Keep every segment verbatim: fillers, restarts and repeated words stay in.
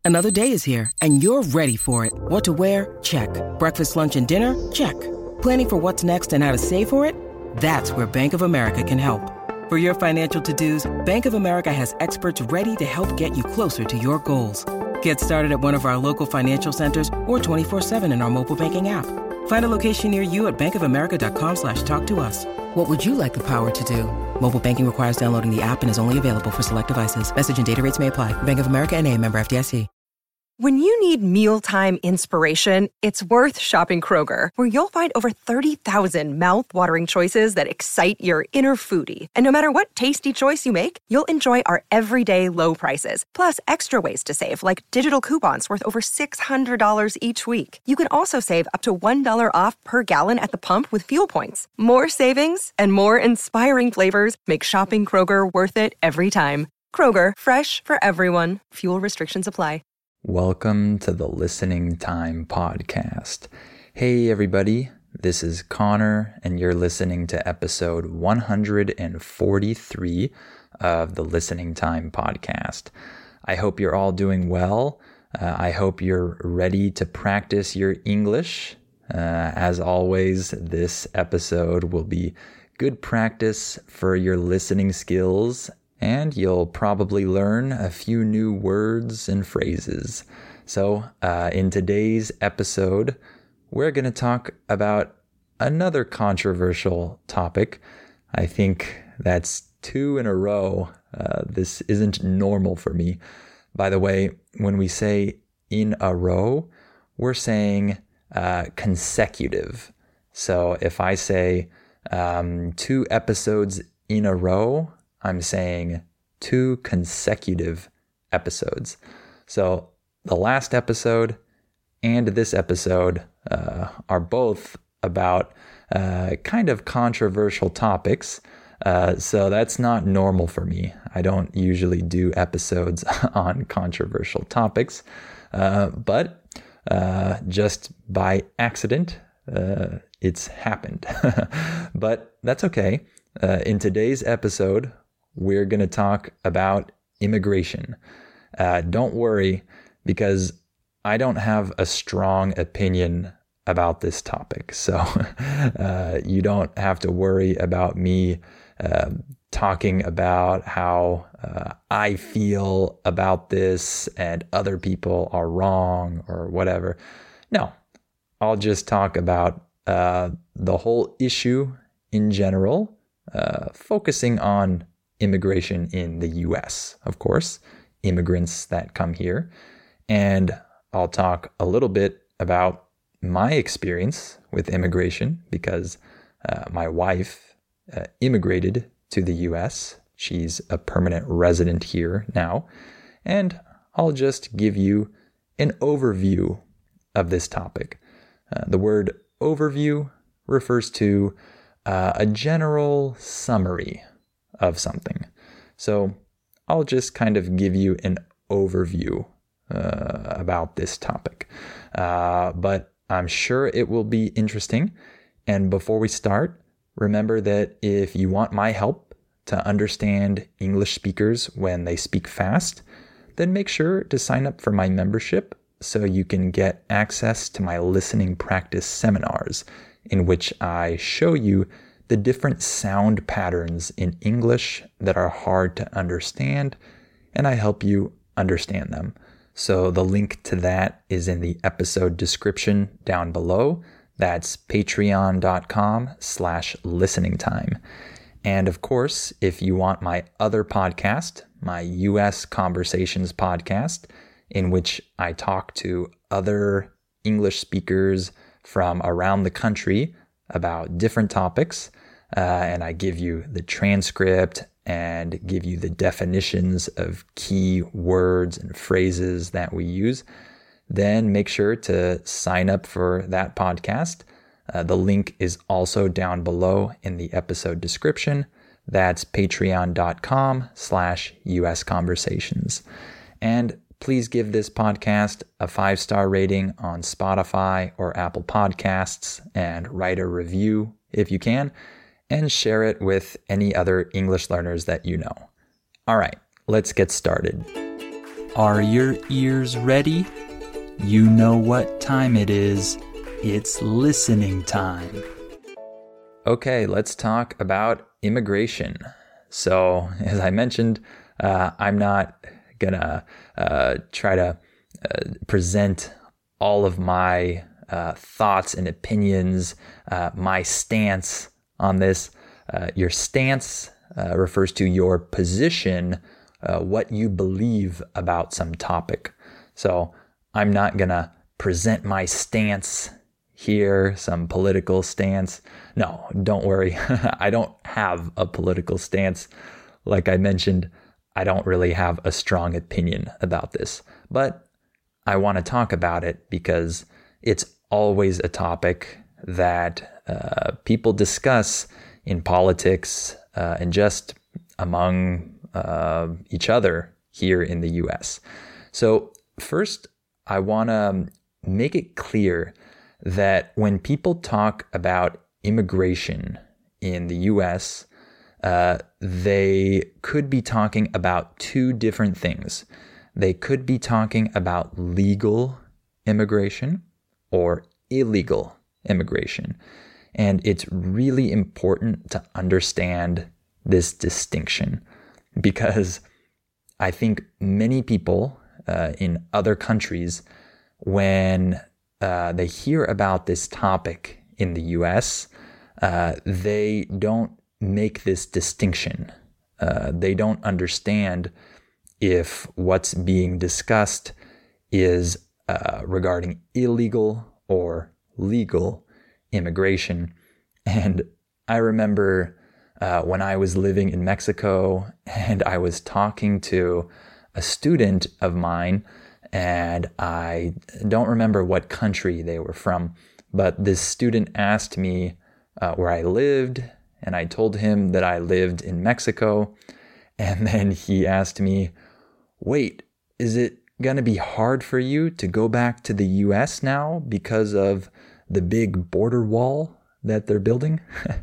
Another day is here, and you're ready for it. What to wear? Check. Breakfast, lunch, and dinner? Check. Planning for what's next and how to save for it? That's where Bank of America can help. For your financial to-dos, Bank of America has experts ready to help get you closer to your goals. Get started at one of our local financial centers or twenty-four seven in our mobile banking app. Find a location near you at bankofamerica.com slash talk to us. What would you like the power to do? Mobile banking requires downloading the app and is only available for select devices. Message and data rates may apply. Bank of America N A, member F D I C. When you need mealtime inspiration, it's worth shopping Kroger, where you'll find over thirty thousand mouth-watering choices that excite your inner foodie. And no matter what tasty choice you make, you'll enjoy our everyday low prices, plus extra ways to save, like digital coupons worth over six hundred dollars each week. You can also save up to one dollar off per gallon at the pump with fuel points. More savings and more inspiring flavors make shopping Kroger worth it every time. Kroger, fresh for everyone. Fuel restrictions apply. Welcome to the Listening Time Podcast. Hey everybody, this is Connor, and you're listening to episode one hundred forty-three of the Listening Time Podcast. I hope you're all doing well. Uh, I hope you're ready to practice your English. Uh, as always, this episode will be good practice for your listening skills, and you'll probably learn a few new words and phrases. So uh, in today's episode, we're going to talk about another controversial topic. I think that's two in a row. Uh, this isn't normal for me. By the way, when we say in a row, we're saying uh, consecutive. So if I say um, two episodes in a row, I'm saying two consecutive episodes. So the last episode and this episode uh, are both about uh, kind of controversial topics. Uh, so that's not normal for me. I don't usually do episodes on controversial topics, uh, but uh, just by accident, uh, it's happened. But that's okay. Uh, in today's episode, we're going to talk about immigration. Uh, don't worry, because I don't have a strong opinion about this topic. So uh, you don't have to worry about me uh, talking about how uh, I feel about this and other people are wrong or whatever. No, I'll just talk about uh, the whole issue in general, uh, focusing on immigration in the U S, of course, immigrants that come here. And I'll talk a little bit about my experience with immigration, because uh, my wife uh, immigrated to the U S. She's a permanent resident here now. And I'll just give you an overview of this topic. Uh, the word overview refers to uh, a general summary of something. So I'll just kind of give you an overview uh, about this topic. Uh, but I'm sure it will be interesting. And before we start, remember that if you want my help to understand English speakers when they speak fast, then make sure to sign up for my membership so you can get access to my listening practice seminars, in which I show you the different sound patterns in English that are hard to understand, and I help you understand them. So the link to that is in the episode description down below. That's patreon.com slash listening time. And of course, if you want my other podcast, my U S Conversations podcast, in which I talk to other English speakers from around the country about different topics, uh, and I give you the transcript and give you the definitions of key words and phrases that we use, then make sure to sign up for that podcast. Uh, the link is also down below in the episode description. That's patreon.com slash US Conversations. And please give this podcast a five-star rating on Spotify or Apple Podcasts, and write a review if you can, and share it with any other English learners that you know. All right, let's get started. Are your ears ready? You know what time it is. It's listening time. Okay, let's talk about immigration. So, as I mentioned, uh, I'm not gonna uh, try to uh, present all of my uh, thoughts and opinions, uh, my stance on this. Uh, your stance uh, refers to your position, uh, what you believe about some topic. So I'm not gonna present my stance here, some political stance. No, don't worry. I don't have a political stance. Like I mentioned, I don't really have a strong opinion about this, but I want to talk about it because it's always a topic that uh, people discuss in politics uh, and just among uh, each other here in the U S. So first, I want to make it clear that when people talk about immigration in the U S, uh, they could be talking about two different things. They could be talking about legal immigration or illegal immigration. And it's really important to understand this distinction because I think many people uh, in other countries, when uh, they hear about this topic in the U S, uh, they don't make this distinction. Uh, they don't understand if what's being discussed is uh, regarding illegal or legal immigration. And I remember uh, when I was living in Mexico and I was talking to a student of mine, and I don't remember what country they were from, but this student asked me uh, where I lived, and I told him that I lived in Mexico. And then he asked me, wait, is it going to be hard for you to go back to the U S now because of the big border wall that they're building?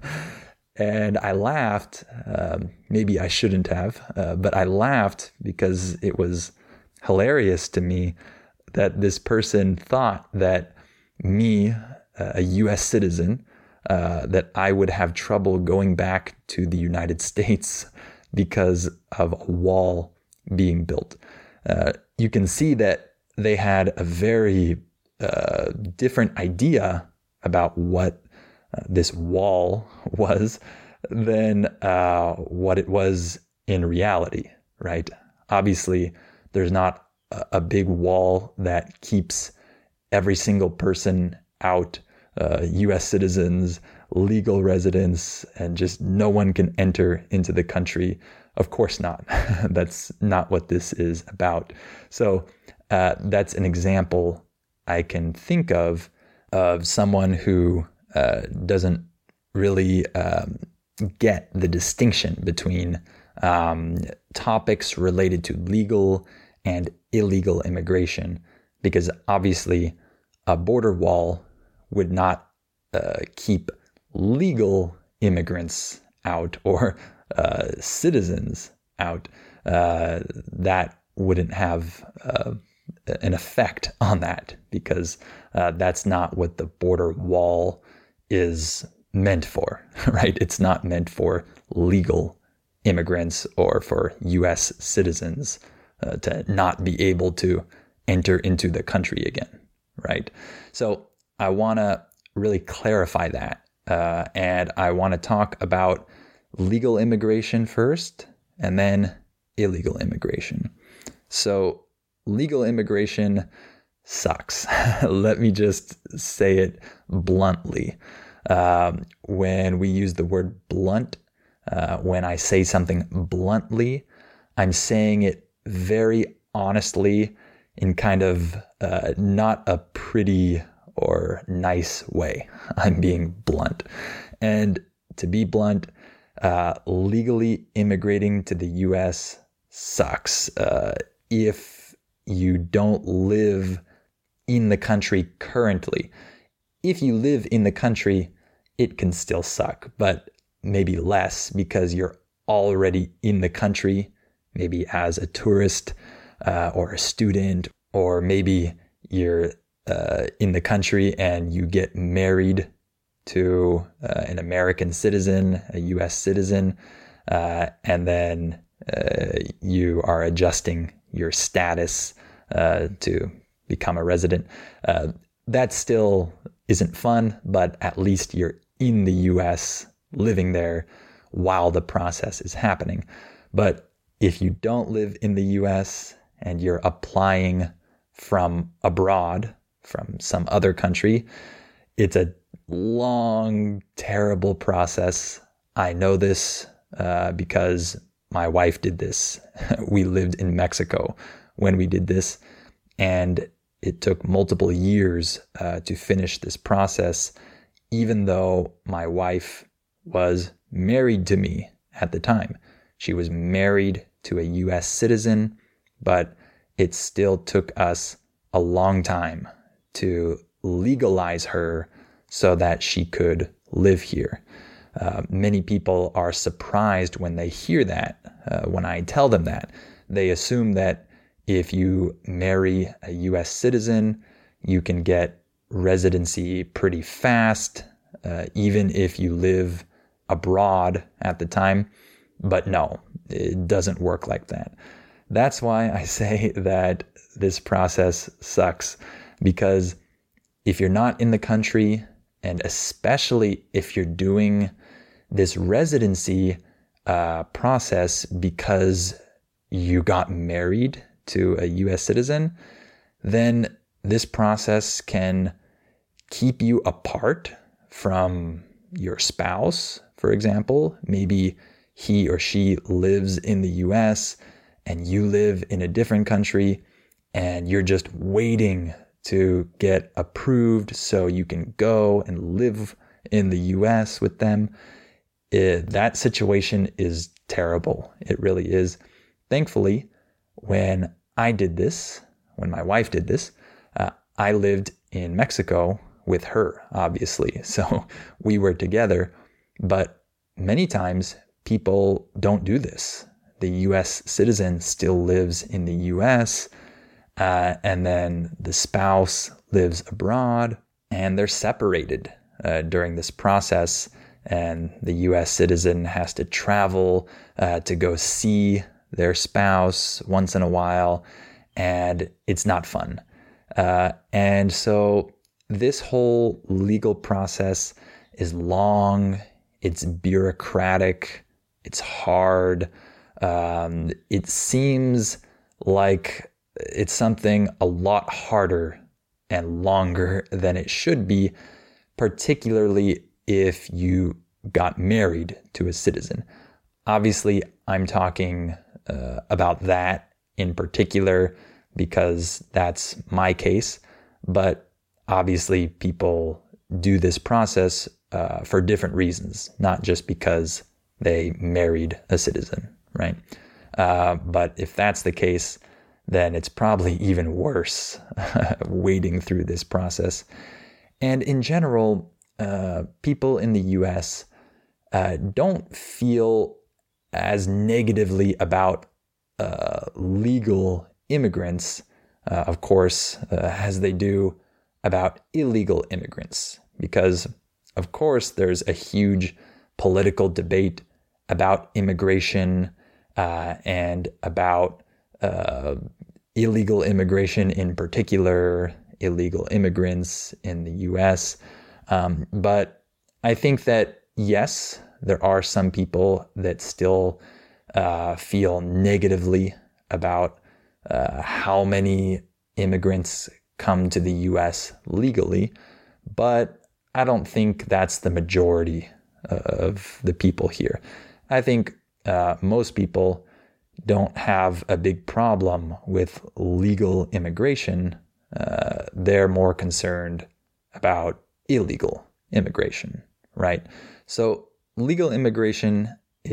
And I laughed. Um, maybe I shouldn't have, uh, but I laughed because it was hilarious to me that this person thought that me, uh, a U S citizen, uh, that I would have trouble going back to the United States because of a wall being built. Uh, you can see that they had a very uh, different idea about what uh, this wall was than uh, what it was in reality, right? Obviously, there's not a, a big wall that keeps every single person out, uh, U S citizens, legal residents, and just no one can enter into the country. Of course not. That's not what this is about. So uh, that's an example I can think of of someone who uh, doesn't really um, get the distinction between um, topics related to legal and illegal immigration, because obviously a border wall would not uh, keep legal immigrants out or uh, citizens out. Uh, that wouldn't have uh, an effect on that because uh, that's not what the border wall is meant for, right? It's not meant for legal immigrants or for U S citizens uh, to not be able to enter into the country again, right? So I want to really clarify that. Uh, and I want to talk about legal immigration first and then illegal immigration. So legal immigration sucks. Let me just say it bluntly. Um, when we use the word blunt, uh, when I say something bluntly, I'm saying it very honestly in kind of uh, not a pretty or nice way. I'm being blunt. And to be blunt, uh, legally immigrating to the U S sucks. Uh, if you don't live in the country currently, if you live in the country, it can still suck, but maybe less because you're already in the country, maybe as a tourist, uh, or a student, or maybe you're uh, in the country and you get married to uh, an American citizen, a U S citizen, uh, and then uh, you are adjusting your status uh, to become a resident. Uh, that still isn't fun, but at least you're in the U S living there while the process is happening. But if you don't live in the U S and you're applying from abroad, from some other country, it's a long, terrible process. I know this uh, because my wife did this. We lived in Mexico when we did this, and it took multiple years uh, to finish this process, even though my wife was married to me at the time. She was married to a U S citizen, but it still took us a long time to legalize her so that she could live here. Uh, many people are surprised when they hear that, uh, when I tell them that. They assume that if you marry a U S citizen, you can get residency pretty fast, uh, even if you live abroad at the time. But no, it doesn't work like that. That's why I say that this process sucks, because if you're not in the country, and especially if you're doing this residency uh, process because you got married to a U S citizen, then this process can keep you apart from your spouse, for example. Maybe he or she lives in the U S and you live in a different country, and you're just waiting to get approved so you can go and live in the U S with them. It, that situation is terrible. It really is. Thankfully, when I did this, when my wife did this, uh, I lived in Mexico with her, obviously. So we were together. But many times people don't do this. The U S citizen still lives in the U S, uh, and then the spouse lives abroad, and they're separated uh, during this process. And the U S citizen has to travel uh, to go see their spouse once in a while, and it's not fun. Uh, and so this whole legal process is long, it's bureaucratic, it's hard. Um, it seems like it's something a lot harder and longer than it should be, particularly if you got married to a citizen. Obviously, I'm talking uh, about that in particular because that's my case, but obviously people do this process uh, for different reasons, not just because they married a citizen, right? Uh, but if that's the case, then it's probably even worse wading through this process. And in general, uh, people in the U S uh, don't feel as negatively about uh, legal immigrants, uh, of course, uh, as they do about illegal immigrants. Because, of course, there's a huge political debate about immigration uh, and about uh, illegal immigration in particular, illegal immigrants in the U S. Um, but I think that, yes, there are some people that still uh, feel negatively about uh, how many immigrants come to the U S legally, but I don't think that's the majority of the people here. I think uh, most people don't have a big problem with legal immigration. Uh, they're more concerned about illegal immigration, right? So legal immigration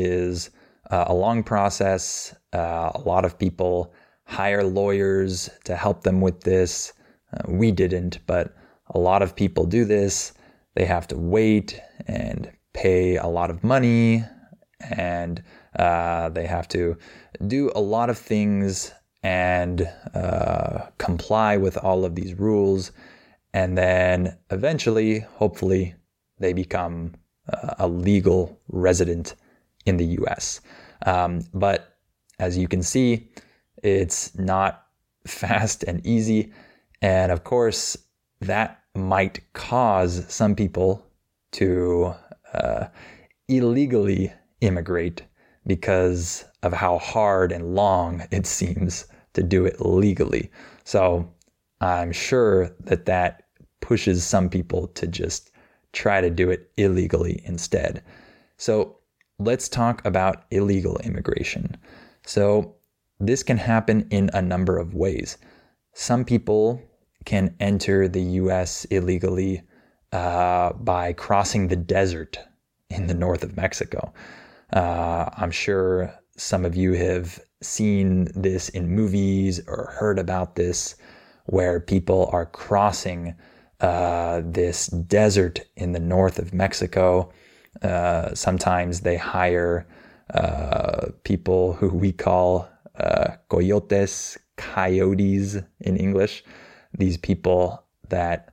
is uh, a long process. Uh, a lot of people hire lawyers to help them with this. Uh, we didn't, but a lot of people do this. They have to wait and pay a lot of money, and uh, they have to do a lot of things and uh, comply with all of these rules. And then eventually, hopefully, they become uh, a legal resident in the U S. Um, but as you can see, it's not fast and easy. And of course, that might cause some people to uh, illegally immigrate because of how hard and long it seems to do it legally. So I'm sure that that pushes some people to just try to do it illegally instead. So let's talk about illegal immigration. So this can happen in a number of ways. Some people can enter the U S illegally uh, by crossing the desert in the north of Mexico. Uh, I'm sure some of you have seen this in movies or heard about this, where people are crossing uh, this desert in the north of Mexico. Uh, sometimes they hire uh, people who we call uh, coyotes, coyotes in English. These people that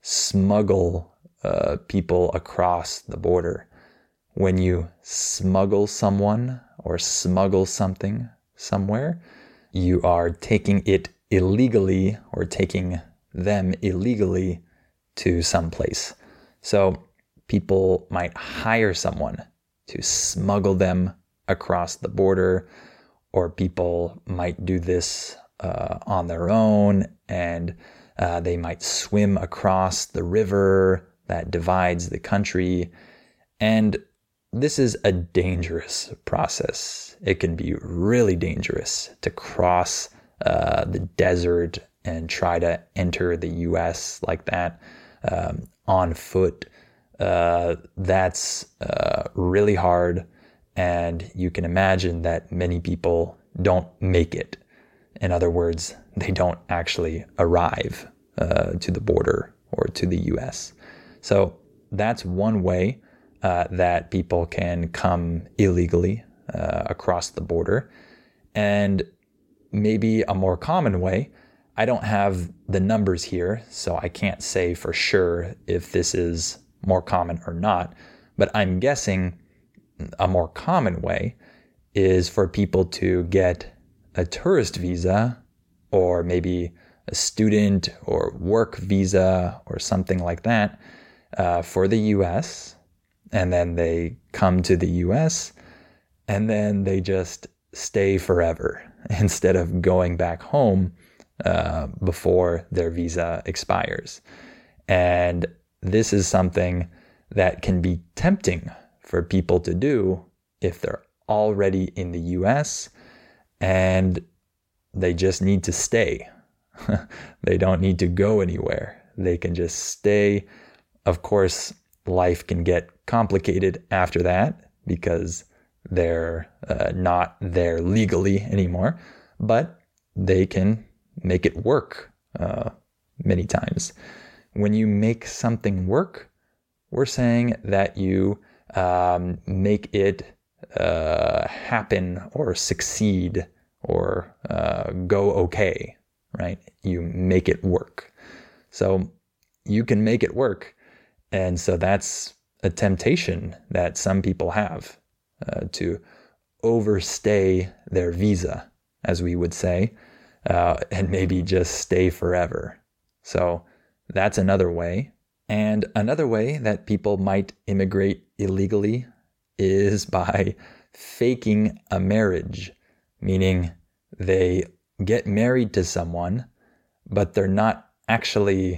smuggle uh, people across the border. When you smuggle someone or smuggle something somewhere, you are taking it illegally or taking them illegally to some place. So people might hire someone to smuggle them across the border, or people might do this uh, on their own, and uh, they might swim across the river that divides the country. And this is a dangerous process. It can be really dangerous to cross uh, the desert and try to enter the U S like that um, on foot. Uh, that's uh, really hard. And you can imagine that many people don't make it. In other words, they don't actually arrive uh, to the border or to the U S. So that's one way Uh, that people can come illegally uh, across the border. And maybe a more common way, I don't have the numbers here, so I can't say for sure if this is more common or not, but I'm guessing a more common way is for people to get a tourist visa, or maybe a student or work visa or something like that uh, for the U S, and then they come to the U S, and then they just stay forever instead of going back home uh, before their visa expires. And this is something that can be tempting for people to do if they're already in the U S and they just need to stay. They don't need to go anywhere. They can just stay. Of course, life can get complicated after that because they're uh, not there legally anymore, but they can make it work uh, many times. When you make something work, we're saying that you um, make it uh, happen or succeed or uh, go okay, right? You make it work. So you can make it work. And so that's a temptation that some people have uh, to overstay their visa, as we would say, uh, and maybe just stay forever. So that's another way. And another way that people might immigrate illegally is by faking a marriage, meaning they get married to someone, but they're not actually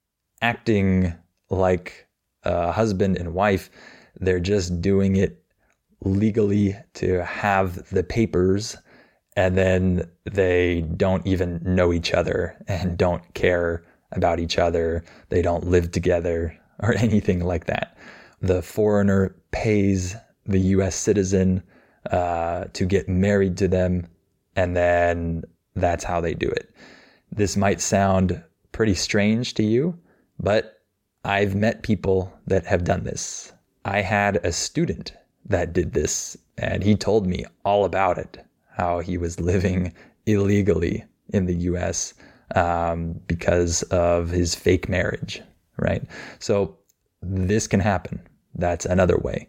acting like a husband and wife. They're just doing it legally to have the papers, and then they don't even know each other and don't care about each other. They don't live together or anything like that. The foreigner pays the U S citizen uh, to get married to them, and then that's how they do it. This might sound pretty strange to you, but I've met people that have done this. I had a student that did this, and he told me all about it, how he was living illegally in the U S um, because of his fake marriage, right? So this can happen. That's another way.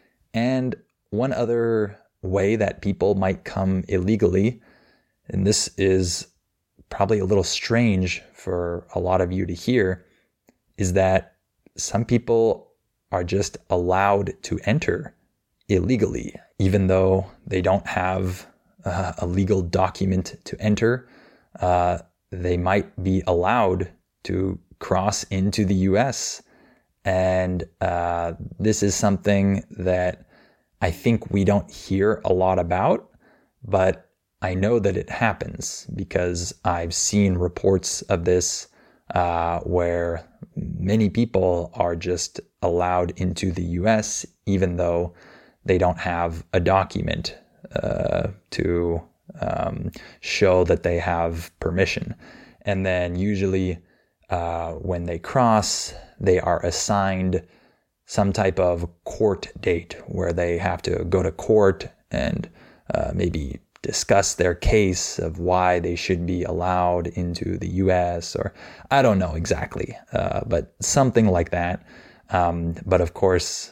And one other way that people might come illegally, and this is probably a little strange for a lot of you to hear, is that some people are just allowed to enter illegally, even though they don't have uh, a legal document to enter. Uh, they might be allowed to cross into the U S. And uh, this is something that I think we don't hear a lot about, but I know that it happens because I've seen reports of this uh, where many people are just allowed into the U S even though they don't have a document uh, to um, show that they have permission. And then usually uh, when they cross, they are assigned some type of court date where they have to go to court and uh, maybe discuss their case of why they should be allowed into the U S, or I don't know exactly, uh, but something like that. Um, but of course,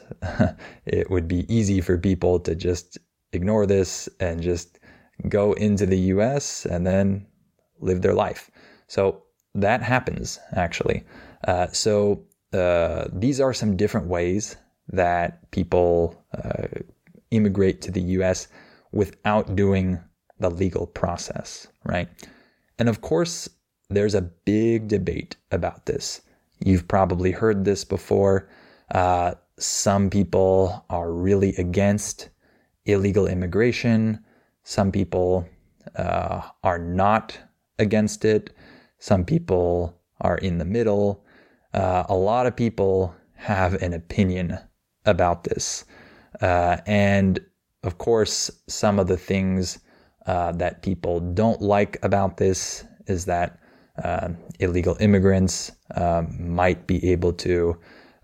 it would be easy for people to just ignore this and just go into the U S and then live their life. So that happens, actually. Uh, so uh, these are some different ways that people uh, immigrate to the U S without doing the legal process, right? And of course, there's a big debate about this. You've probably heard this before. Uh, some people are really against illegal immigration. Some people uh, are not against it. Some people are in the middle. Uh, a lot of people have an opinion about this. Uh, and of course, some of the things uh, that people don't like about this is that uh, illegal immigrants um, might be able to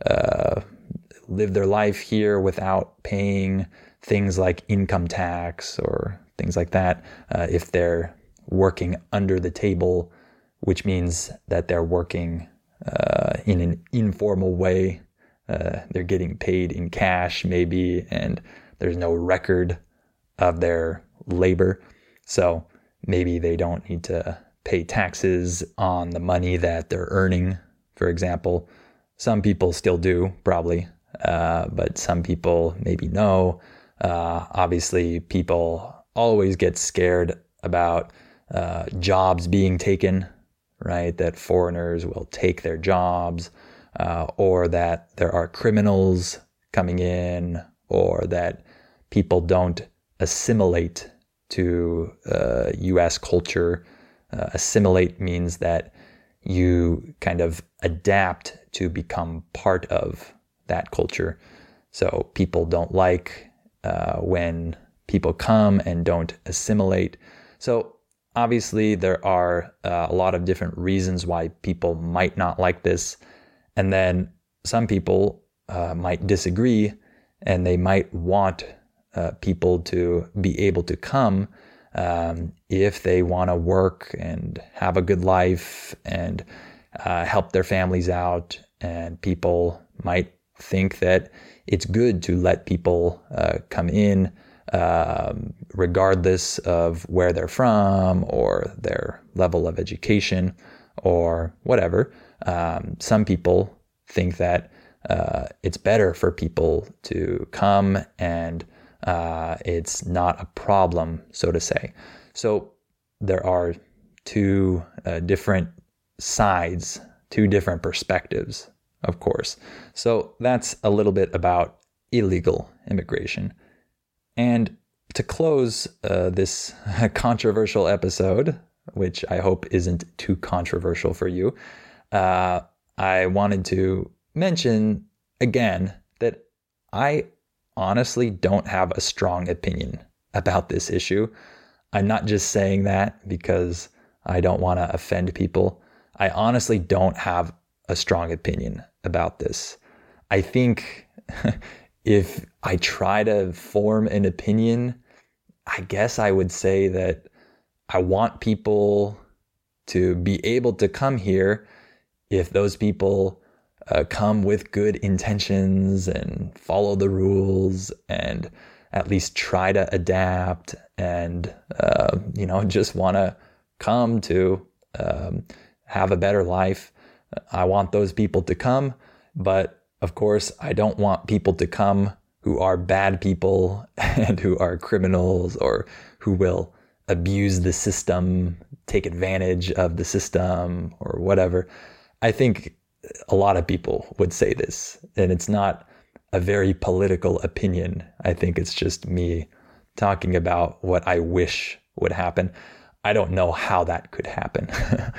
uh, live their life here without paying things like income tax or things like that uh, if they're working under the table, which means that they're working uh, in an informal way. Uh, they're getting paid in cash maybe, and there's no record of their labor. So maybe they don't need to pay taxes on the money that they're earning, for example. Some people still do, probably, uh, but some people maybe no. Uh, obviously, people always get scared about uh, jobs being taken, right? That foreigners will take their jobs, uh, or that there are criminals coming in, or that people don't assimilate to uh, U S culture. Uh, assimilate means that you kind of adapt to become part of that culture. So people don't like uh, when people come and don't assimilate. So obviously there are uh, a lot of different reasons why people might not like this. And then some people uh, might disagree, and they might want uh, people to be able to come um, if they want to work and have a good life and uh, help their families out. And people might think that it's good to let people uh, come in um, regardless of where they're from or their level of education or whatever. Um, some people think that uh, it's better for people to come and uh, it's not a problem, so to say. So there are two uh, different sides, two different perspectives, of course. So that's a little bit about illegal immigration. And to close uh, this controversial episode, which I hope isn't too controversial for you, uh, I wanted to mention again that I honestly don't have a strong opinion about this issue. I'm not just saying that because I don't want to offend people. I honestly don't have a strong opinion about this. I think if I try to form an opinion, I guess I would say that I want people to be able to come here if those people uh, come with good intentions and follow the rules and at least try to adapt and, uh, you know, just want to come to um, have a better life. I want those people to come, but of course, I don't want people to come who are bad people and who are criminals or who will abuse the system, take advantage of the system or whatever. I think a lot of people would say this, and it's not a very political opinion. I think it's just me talking about what I wish would happen. I don't know how that could happen.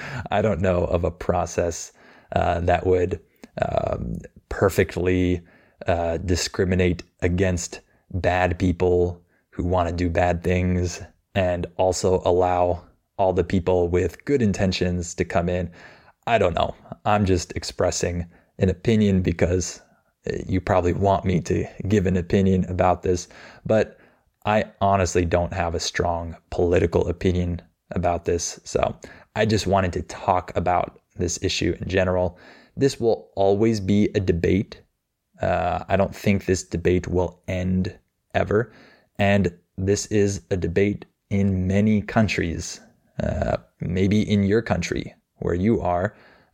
I don't know of a process uh, that would um, perfectly uh, discriminate against bad people who want to do bad things and also allow all the people with good intentions to come in. I don't know. I'm just expressing an opinion because you probably want me to give an opinion about this, but I honestly don't have a strong political opinion about this. So I just wanted to talk about this issue in general. This will always be a debate. Uh, I don't think this debate will end ever. And this is a debate in many countries, uh, maybe in your country where you are.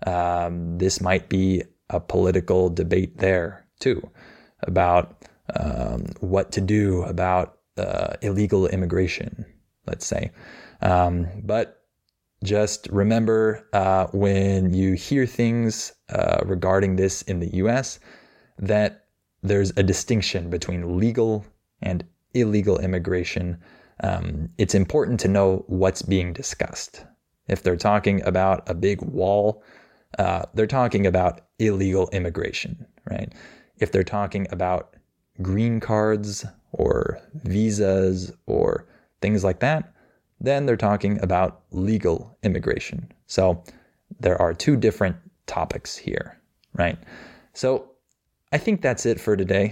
Um, this might be a political debate there too, about um, what to do about uh, illegal immigration, let's say. Um, but just remember uh, when you hear things uh, regarding this in the U S, that there's a distinction between legal and illegal immigration. Um, it's important to know what's being discussed. If they're talking about a big wall, uh, they're talking about illegal immigration, right? If they're talking about green cards or visas or things like that, then they're talking about legal immigration. So there are two different topics here, right? So I think that's it for today.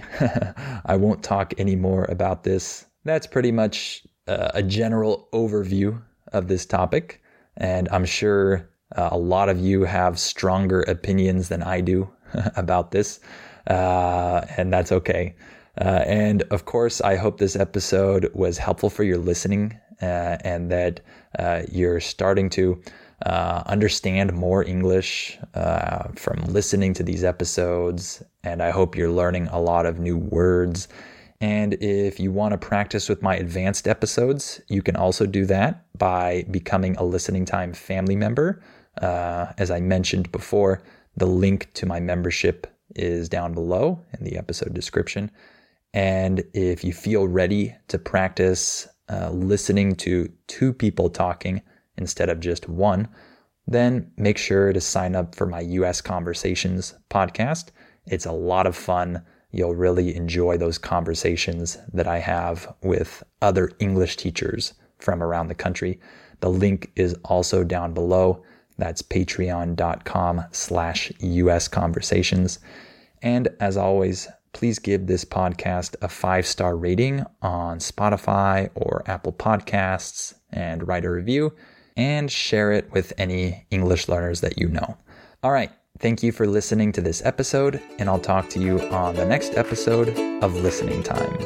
I won't talk any more about this. That's pretty much uh, a general overview of this topic. And I'm sure uh, a lot of you have stronger opinions than I do about this. Uh, and that's okay. Uh, and of course, I hope this episode was helpful for your listening uh, and that uh, you're starting to uh, understand more English uh, from listening to these episodes. And I hope you're learning a lot of new words. And if you want to practice with my advanced episodes, you can also do that by becoming a Listening Time family member. Uh, as I mentioned before, the link to my membership is down below in the episode description. And if you feel ready to practice uh, listening to two people talking instead of just one, then make sure to sign up for my U S Conversations podcast. It's a lot of fun. You'll really enjoy those conversations that I have with other English teachers from around the country. The link is also down below. That's patreon.com slash US Conversations. And as always, please give this podcast a five-star rating on Spotify or Apple Podcasts and write a review and share it with any English learners that you know. All right. Thank you for listening to this episode, and I'll talk to you on the next episode of Listening Time.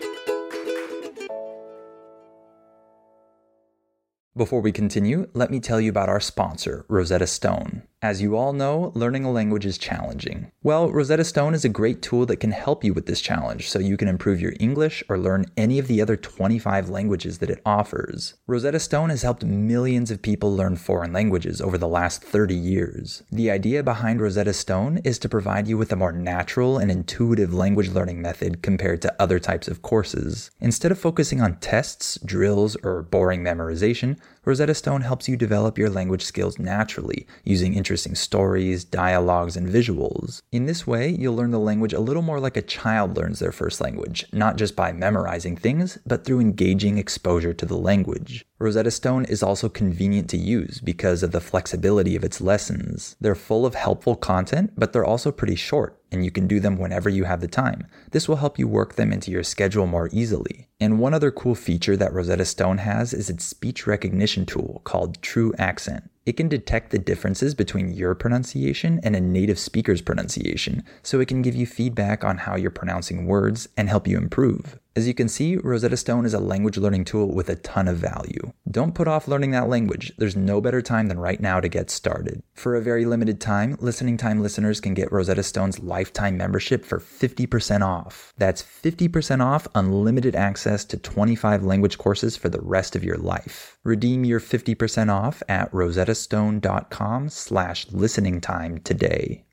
Before we continue, let me tell you about our sponsor, Rosetta Stone. As you all know, learning a language is challenging. Well, Rosetta Stone is a great tool that can help you with this challenge so you can improve your English or learn any of the other twenty-five languages that it offers. Rosetta Stone has helped millions of people learn foreign languages over the last thirty years. The idea behind Rosetta Stone is to provide you with a more natural and intuitive language learning method compared to other types of courses. Instead of focusing on tests, drills, or boring memorization, Rosetta Stone helps you develop your language skills naturally, using interesting stories, dialogues, and visuals. In this way, you'll learn the language a little more like a child learns their first language, not just by memorizing things, but through engaging exposure to the language. Rosetta Stone is also convenient to use because of the flexibility of its lessons. They're full of helpful content, but they're also pretty short. and you can do them whenever you have the time. This will help you work them into your schedule more easily. And one other cool feature that Rosetta Stone has is its speech recognition tool called True Accent. It can detect the differences between your pronunciation and a native speaker's pronunciation, so it can give you feedback on how you're pronouncing words and help you improve. As you can see, Rosetta Stone is a language learning tool with a ton of value. Don't put off learning that language. There's no better time than right now to get started. For a very limited time, Listening Time listeners can get Rosetta Stone's lifetime membership for fifty percent off. That's fifty percent off unlimited access to twenty-five language courses for the rest of your life. Redeem your fifty percent off at rosettastone.com slash listening time today.